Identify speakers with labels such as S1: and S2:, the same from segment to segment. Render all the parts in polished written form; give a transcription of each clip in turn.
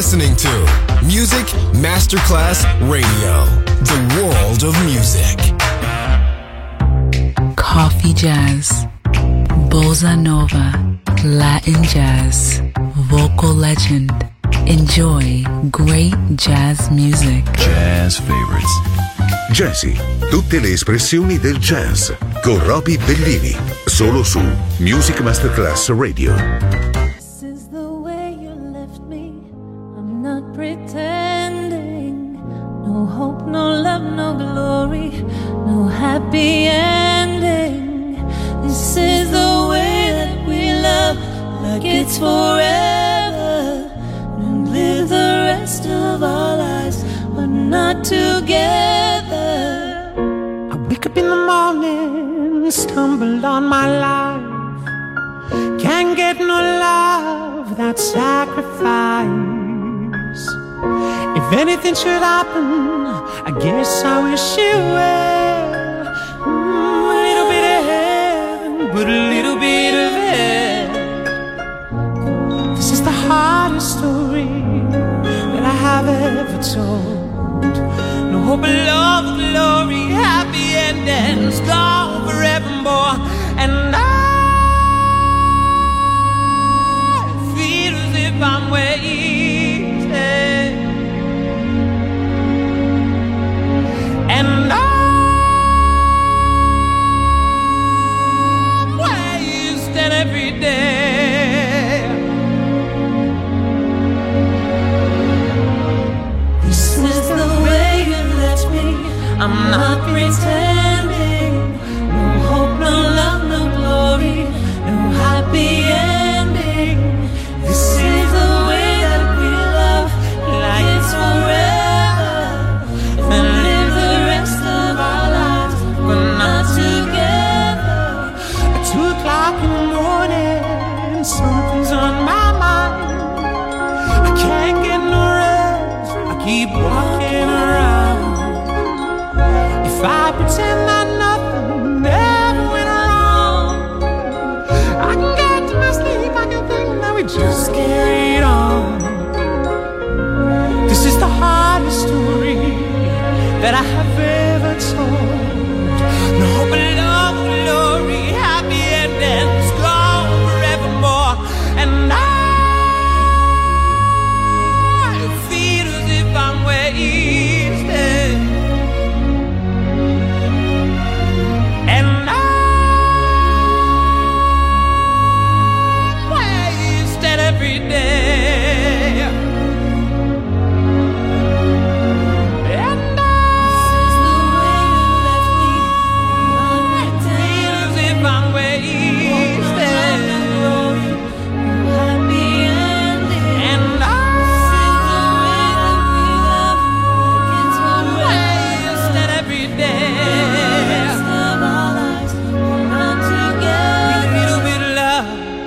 S1: listening to Music Masterclass Radio, the world of music.
S2: Coffee jazz, bossa nova, Latin jazz, vocal legend. Enjoy great jazz music.
S3: Jazz favorites.
S4: Jazzy, tutte le espressioni del jazz con Roby Bellini, solo su Music Masterclass Radio.
S5: This is the way you left me. I'm not pretending. No hope, no love, no glory, no happy ending. This is the way that we love, like it's forever, and live the rest of our lives, but not together.
S6: I wake up in the morning, stumble on my life. Can't get no love without sacrifice. If anything should happen, I guess I wish you well. A little bit of heaven, but a little bit of hell. This is the hardest story that I have ever told. No hope, love, glory, happy endings, gone forevermore. And I feel as if I'm wasted. And I'm wasted every day.
S5: This is the way you left me. I'm not pretending. No hope, no love, no glory, no happy ending. This is the way that we love, like it's forever, and live the rest of our lives, but not together.
S6: At 2 o'clock in the morning, something's on my mind. I can't get no rest, I keep walking around. If I pretend that nothing ever went wrong, I can get to my sleep, I can think that we just carried on. This is the hardest story that I have ever told. No hope, love, glory, happy endings, gone forevermore. And I feel as if I'm wasted. And I'm wasted every day. And
S5: This is the way you left me. I'm not
S6: feel as if I'm wasted.
S5: happy ending.
S6: And
S5: This is the way that we love, like it's forever.
S6: wasted every day.
S5: Rest of our lives, we're not together.
S6: Little bit of love,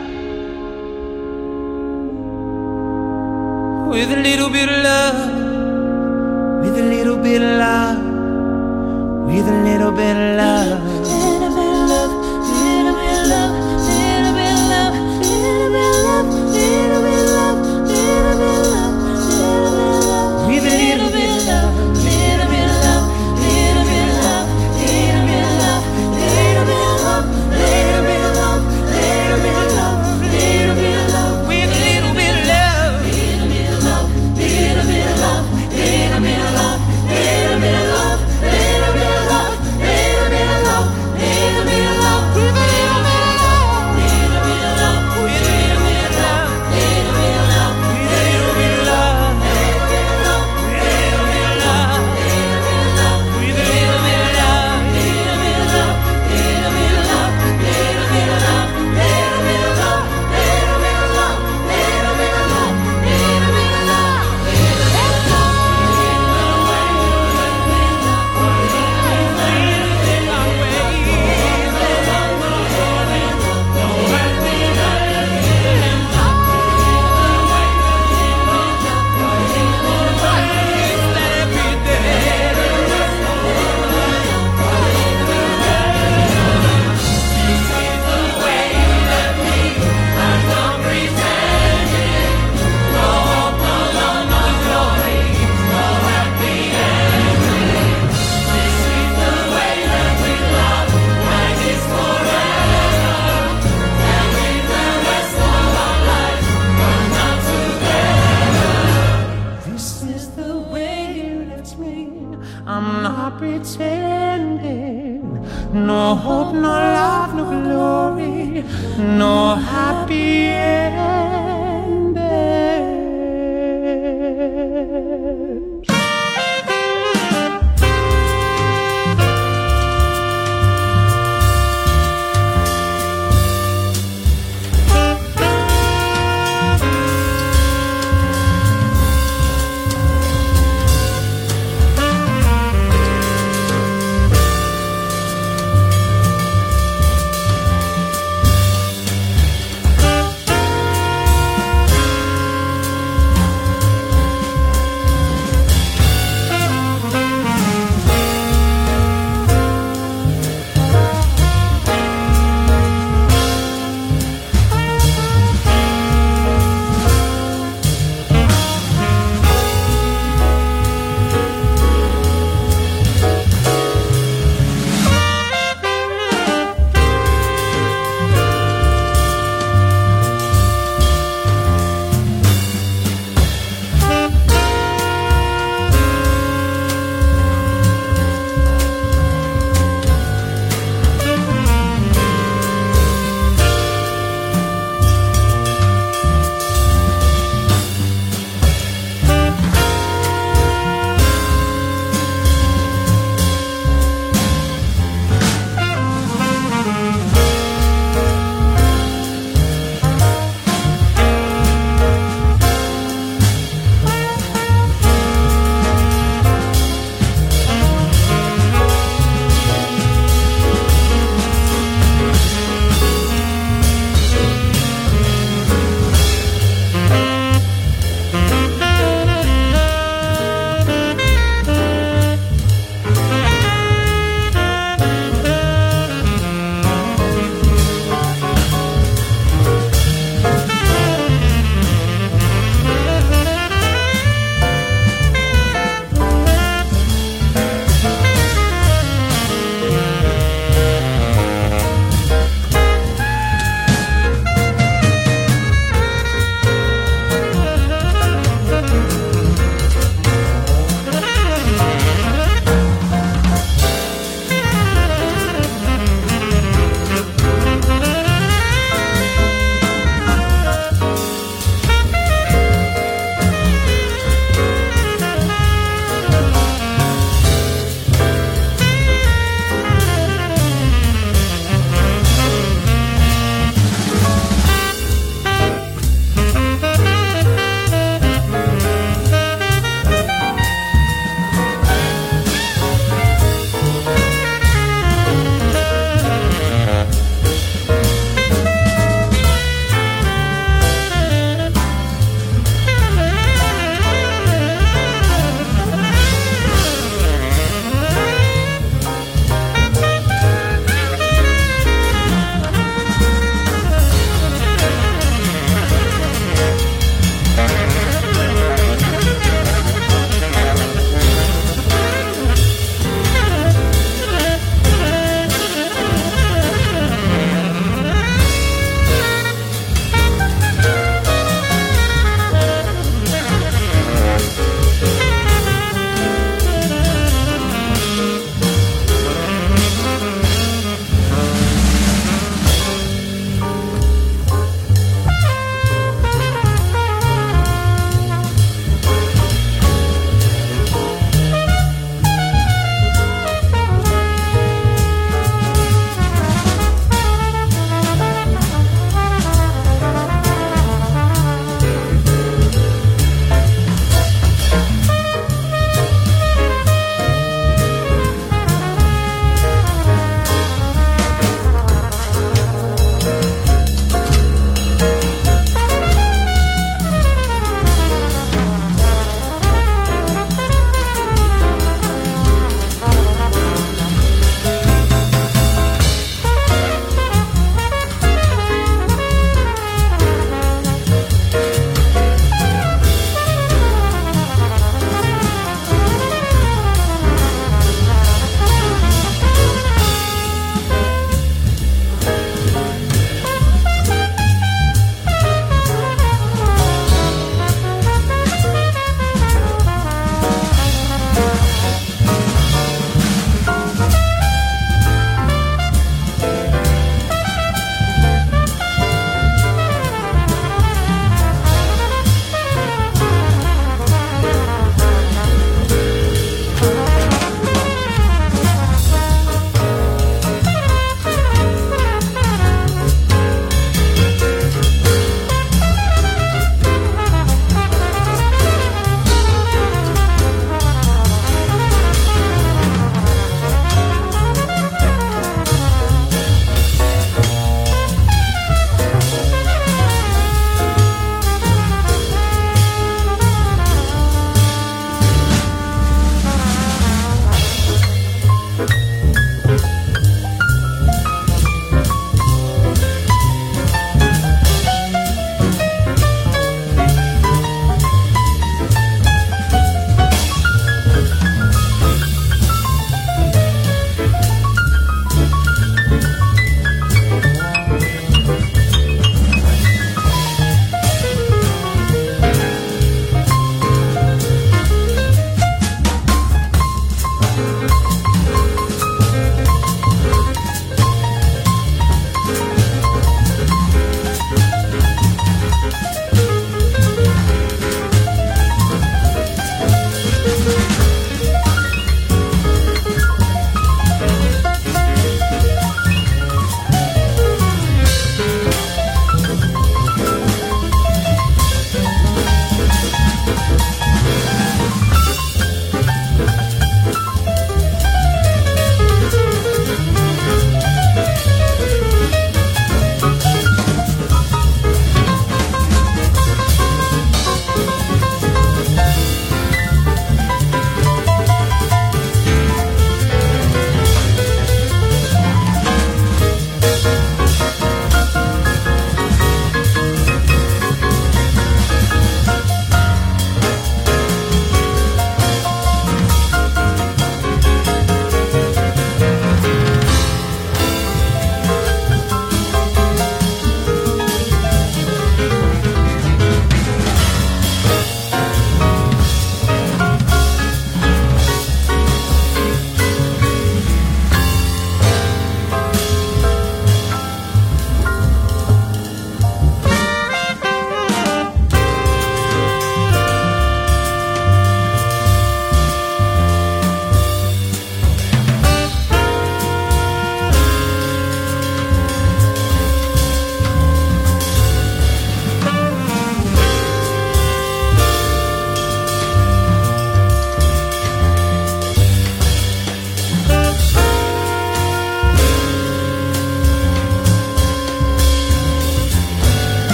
S6: with a little bit of love, with a little bit of love, with a little bit of love.
S5: Little bit of love, little bit of love, little bit of love, little bit of love, little bit of love, little bit of love,
S6: With a little bit of love,
S5: little bit of love, little bit of love, little bit of love, little bit of love, little bit of love, little bit of love, little bit of love,
S6: with a little bit of love.
S5: little bit of love, little bit of love, little bit of love, little bit of love, little bit of love, little bit of love, little bit of love, little bit of love, with a little bit of love.
S6: no hope, no love, no glory, no happy ending.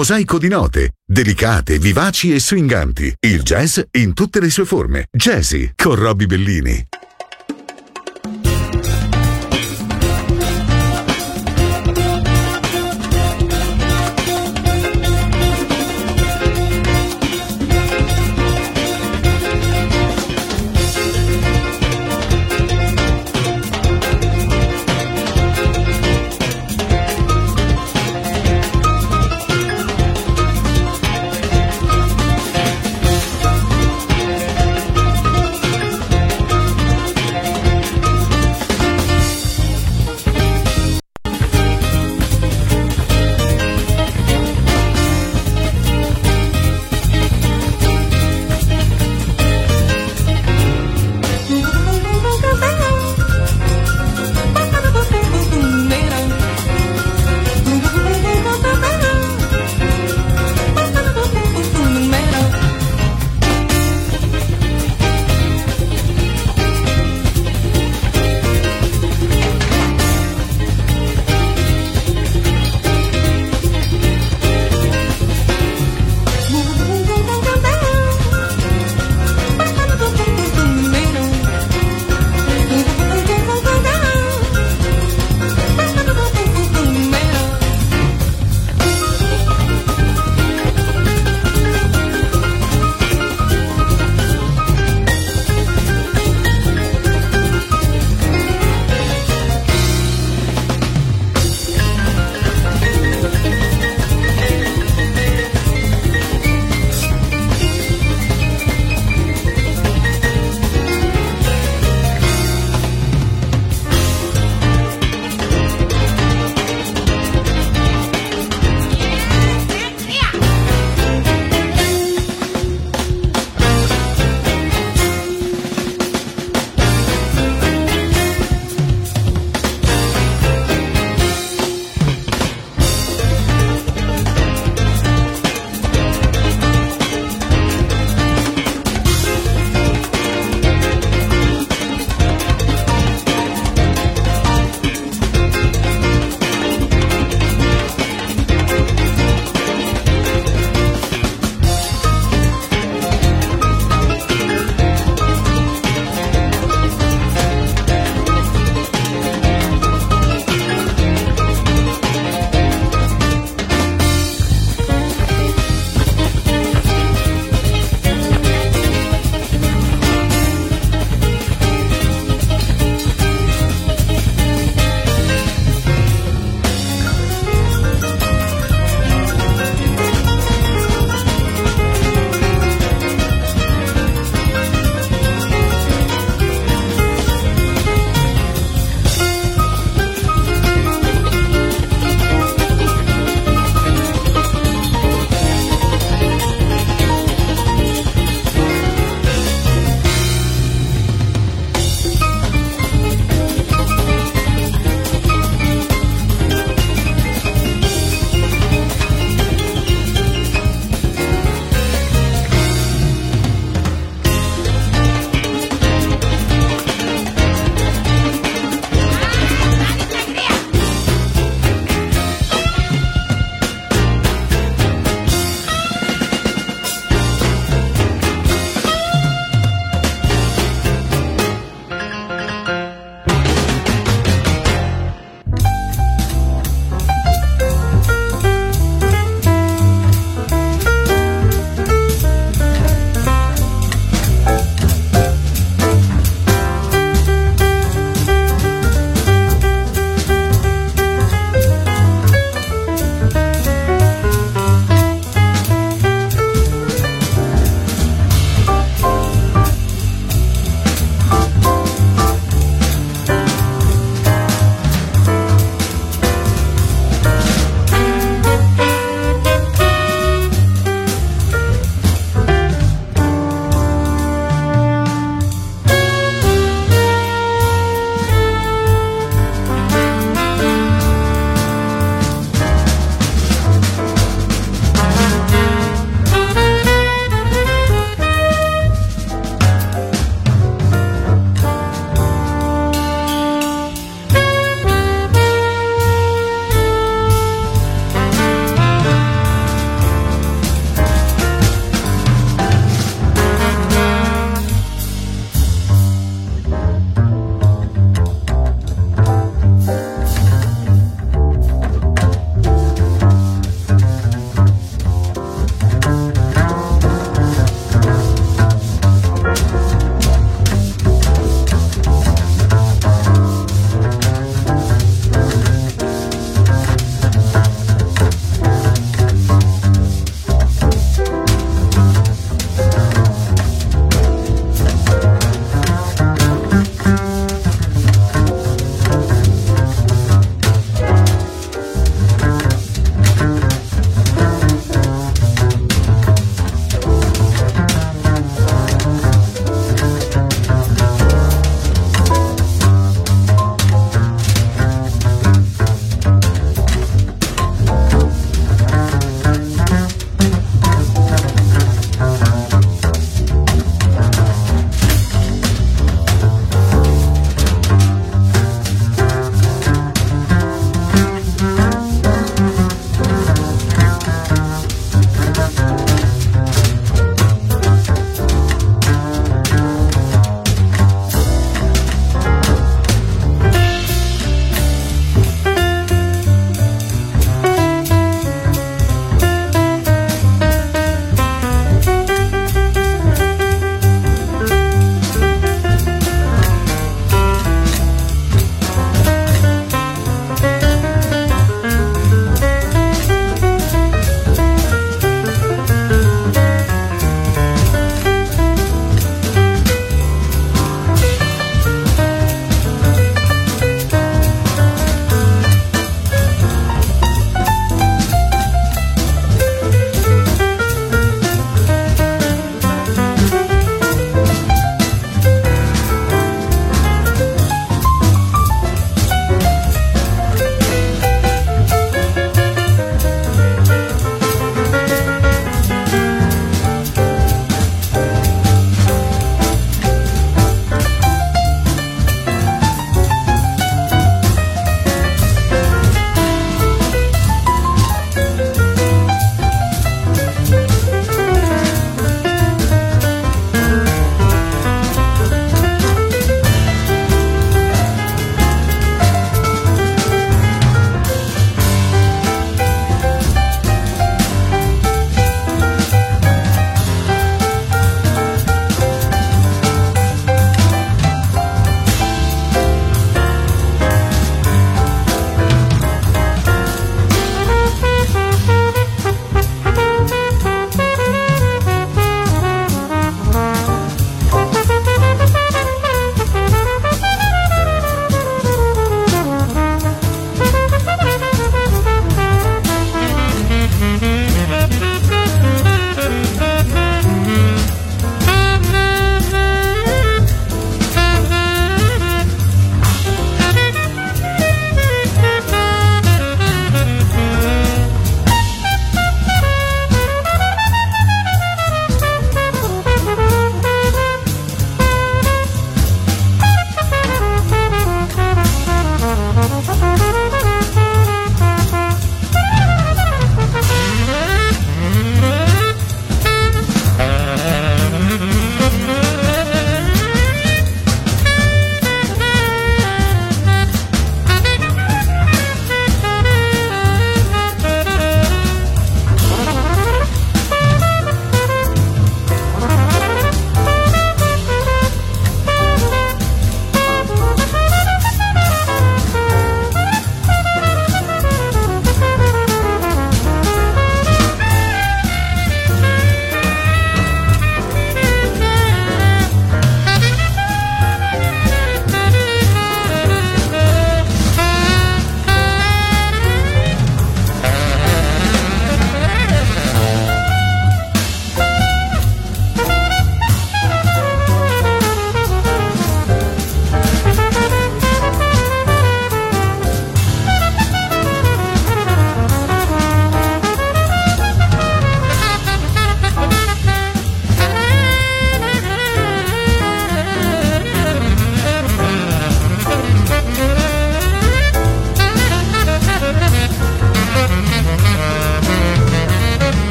S4: mosaico di note, delicate, vivaci e swinganti. Il jazz in tutte le sue forme. Jazzy con Roby Bellini.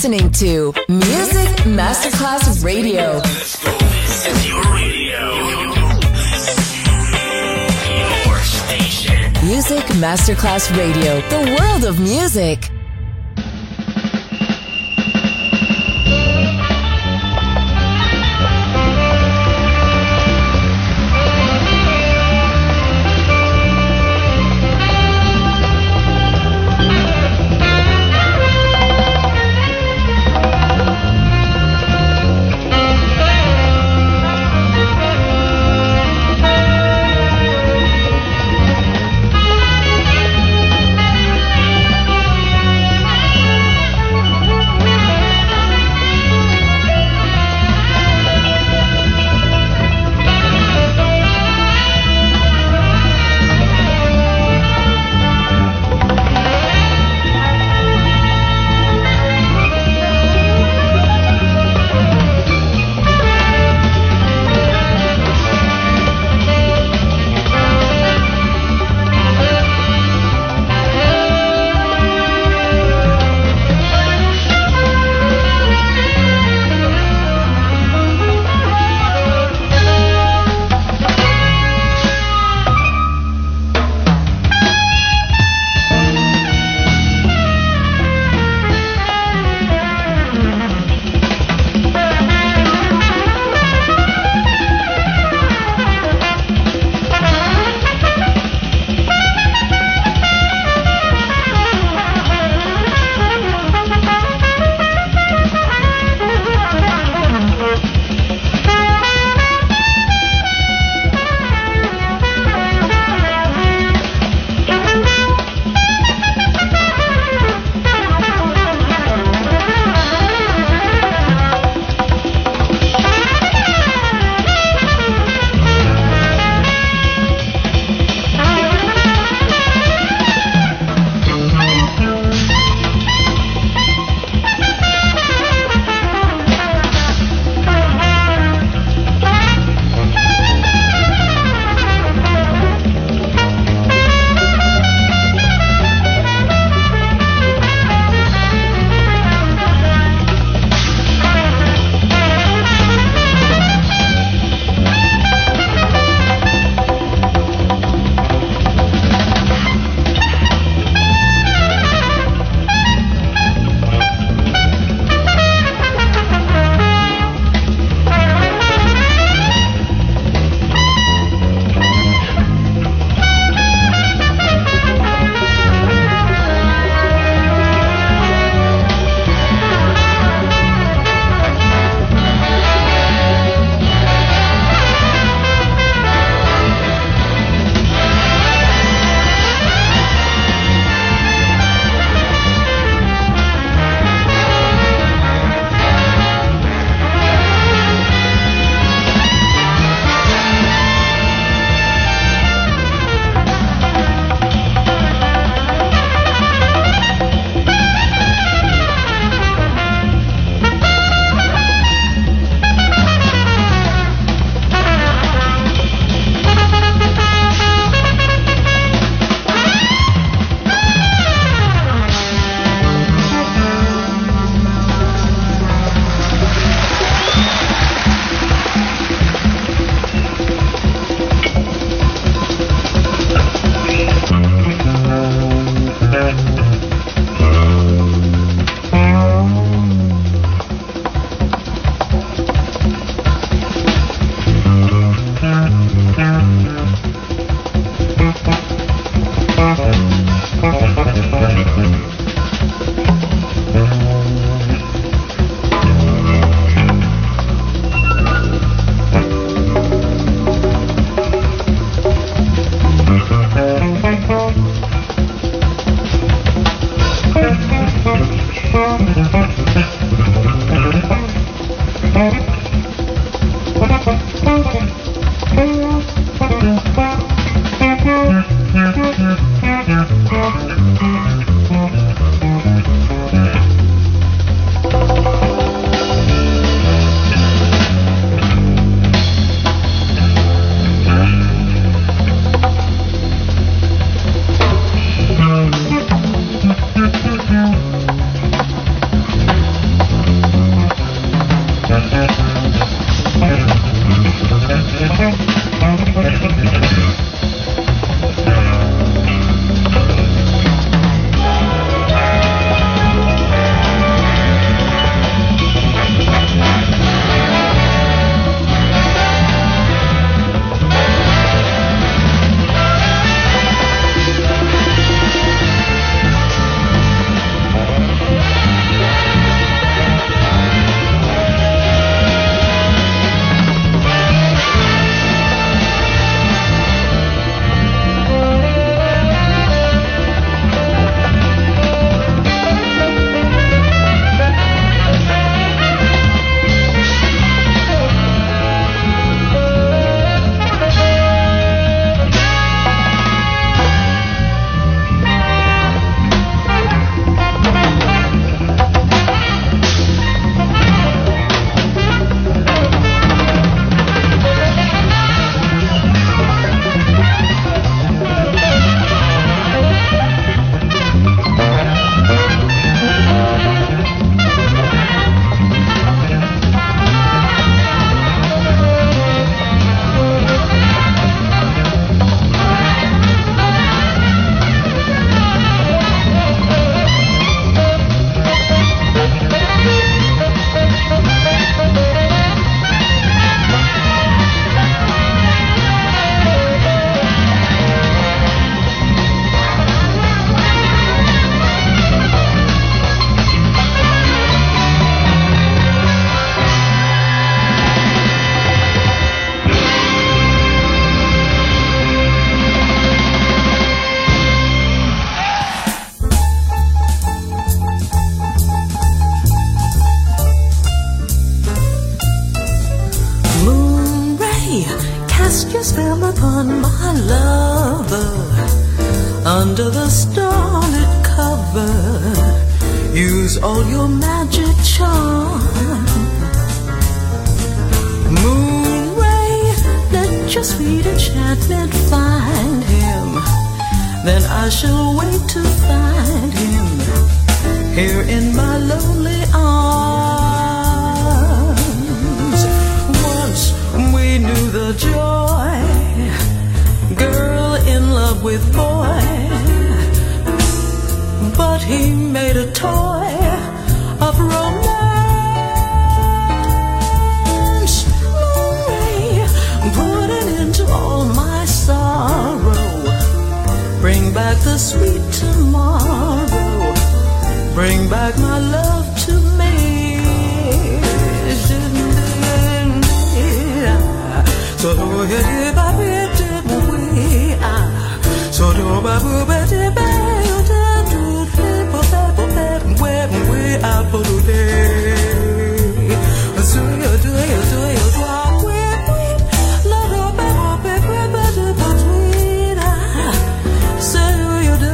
S3: listening to Music Masterclass Radio.
S7: This is your radio. Your station.
S3: Music Masterclass Radio, the world of music.
S8: under the starlit cover. Use all your magic charm. Moon ray, let your sweet enchantment find him. Then I shall wait to find him here in my lonely arms. Once we knew the joy, girl in love with boy, but he made a toy of romance. Moonray, put an end to all my sorrow. Bring back the sweet tomorrow. Bring back my love to me. So do you baby we so do babu baby we are for today. So you do we love baby so you do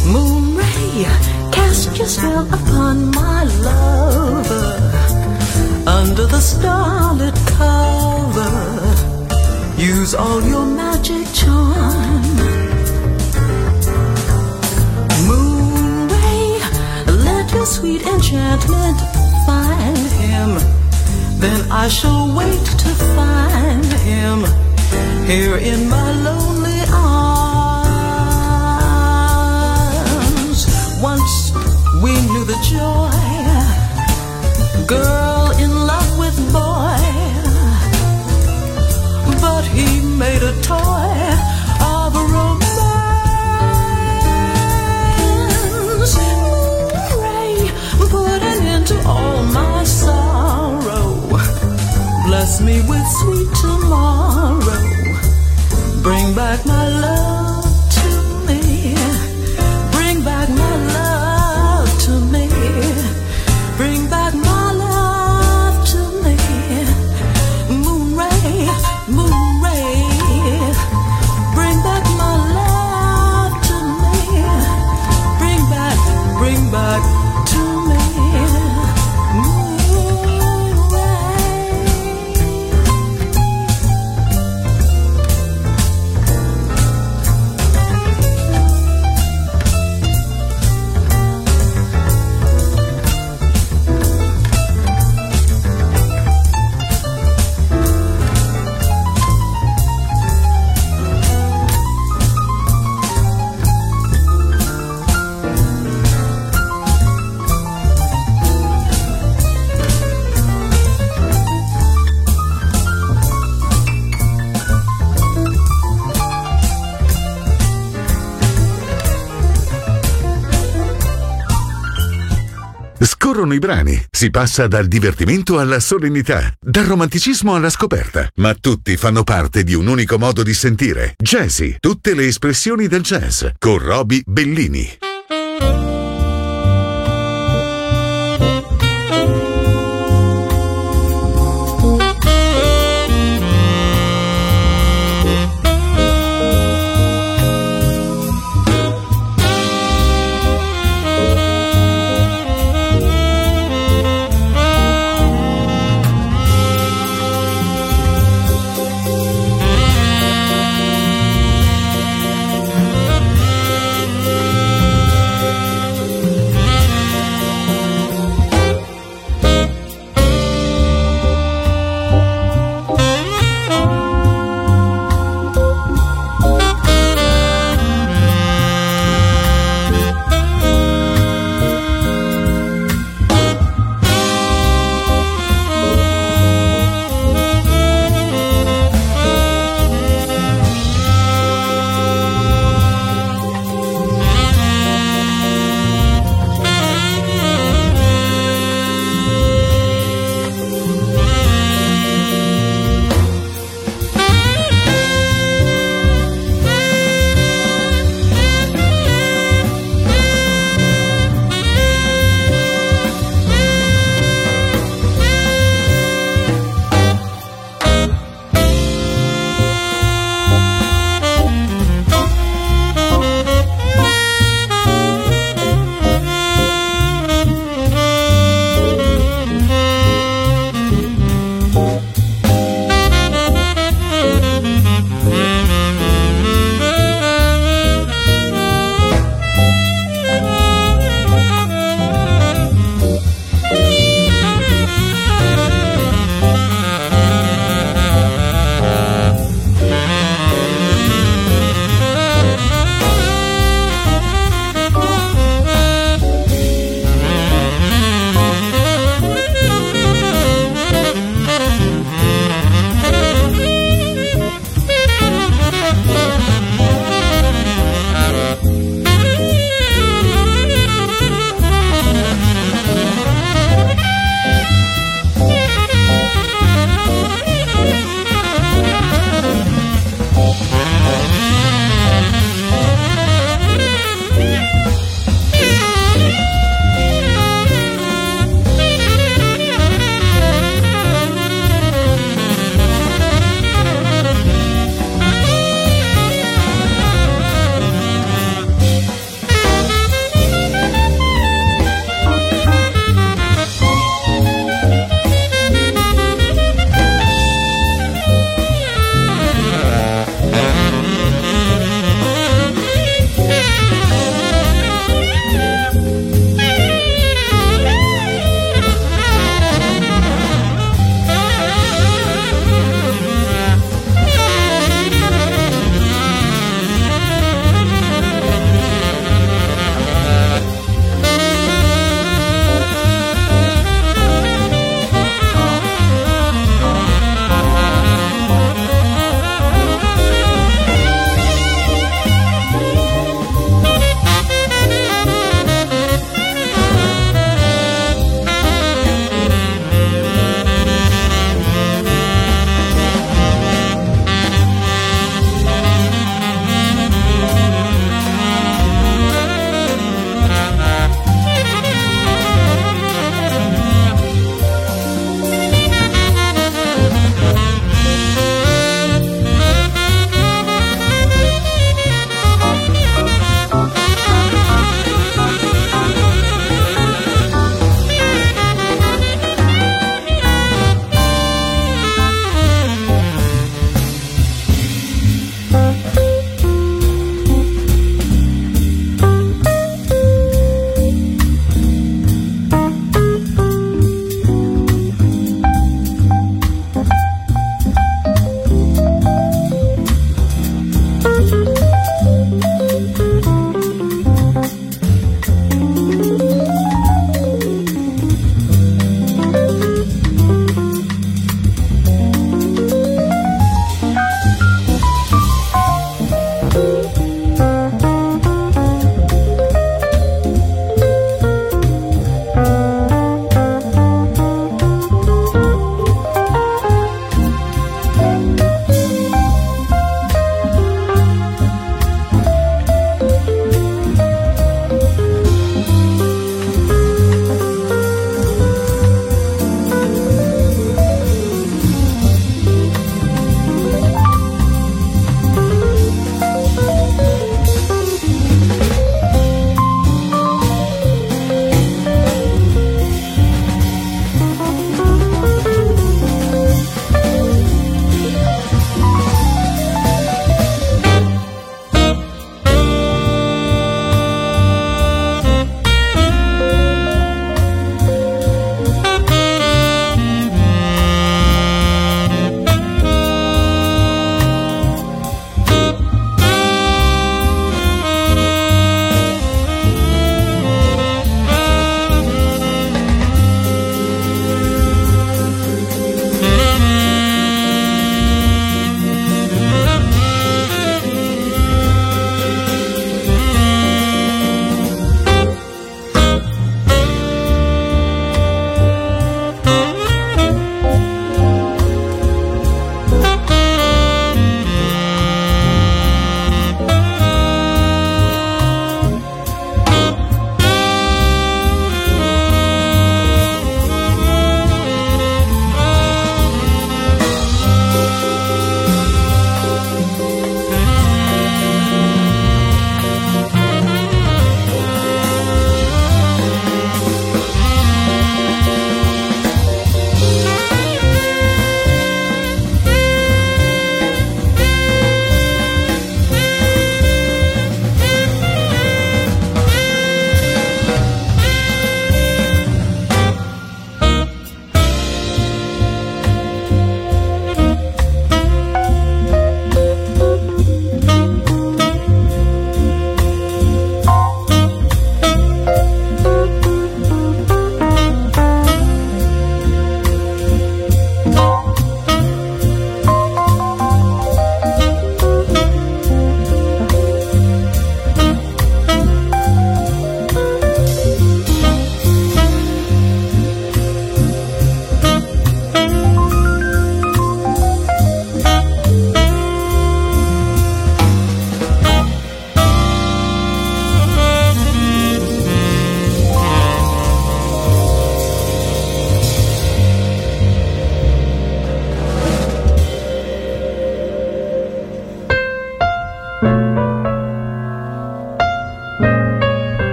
S8: Cast your spell upon my lover. starlit cover. Use all your magic charm. Moon ray, let your sweet enchantment find him. Then I shall wait to find him here in my lonely arms. Once we knew the joy, girl in love with boy, but he made a toy of a romance. Ray, put an end to all my sorrow. Bless me with sweet tomorrow. Bring back my love to me. Bring back my love to me. Bring back my love to me. Moon ray, bring back my love to me. Bring back to me.
S4: Scorrono i brani, si passa dal divertimento alla solennità, dal romanticismo alla scoperta, ma tutti fanno parte di un unico modo di sentire. Jazzy, tutte le espressioni del jazz, con Roby Bellini.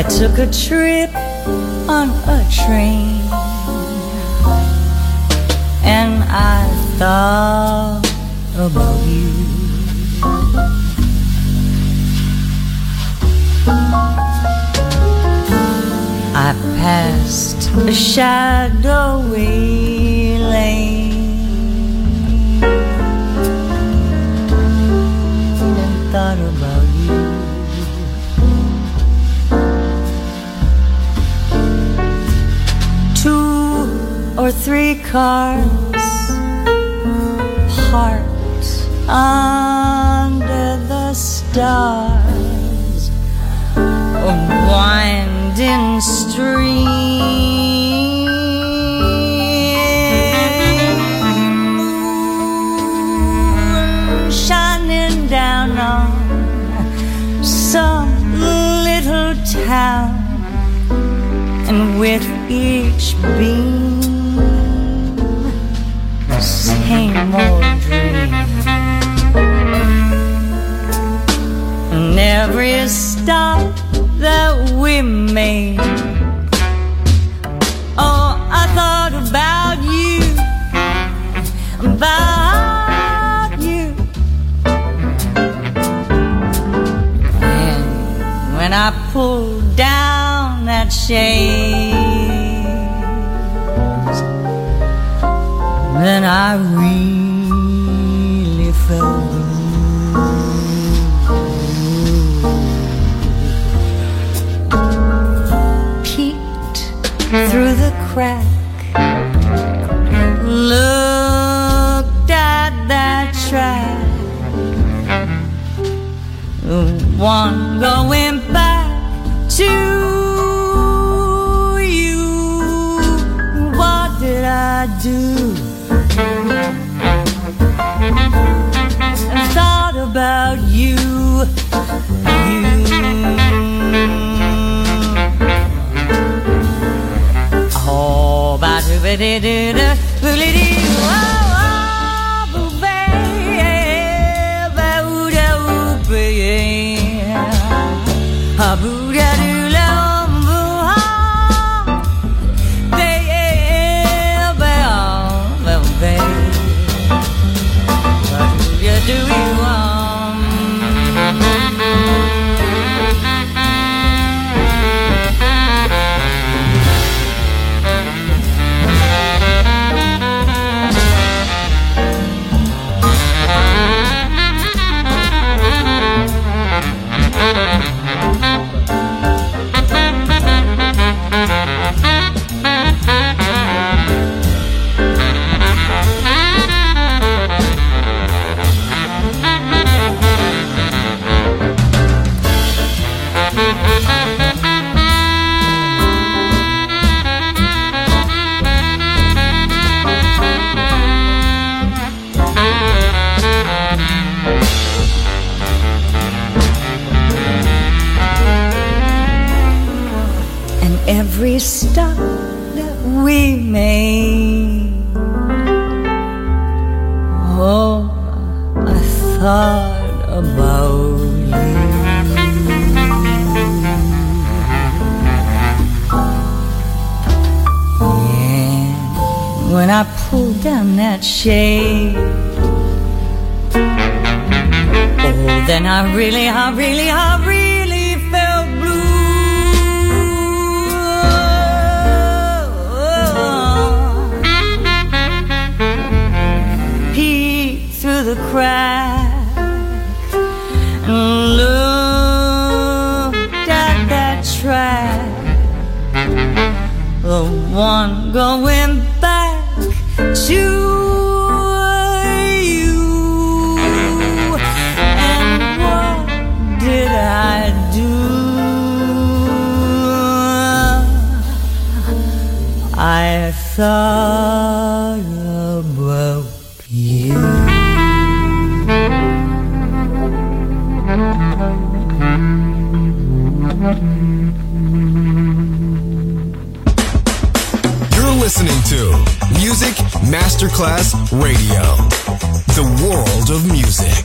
S8: took a trip on a train, and I thought about you. I passed a shadowy lane and thought about you. Two or three cars parked under the stars, a winding stream, moon shining down on some little town, and with each beam, same old dream. And every stop that we made, oh, I thought about you, about you. And when I pulled down that shade, then I really felt blue. Peeked through the crack, looked at that track, the one going back to you. What did I do? And thought about you, you. Oh, ba-do-ba-dee-doo-doo, boo-lee-dee, oh, boo-bae, ba-oo-da-oo-bae, ah-boo-da-doo-la-om, boo-hum, bae, ba-om, ba-bae. Do you every stop that we made, oh, I thought about you. And when I pulled down that shade, oh, then I really felt blue. Through the crack and looked at that track, the one going back to you. And what did I do? I thought about you.
S1: You're listening to Music Masterclass Radio, the world of music.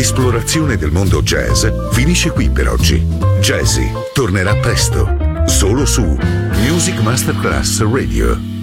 S4: L'esplorazione del mondo jazz finisce qui per oggi. Jazzy tornerà presto, solo su Music Masterclass Radio.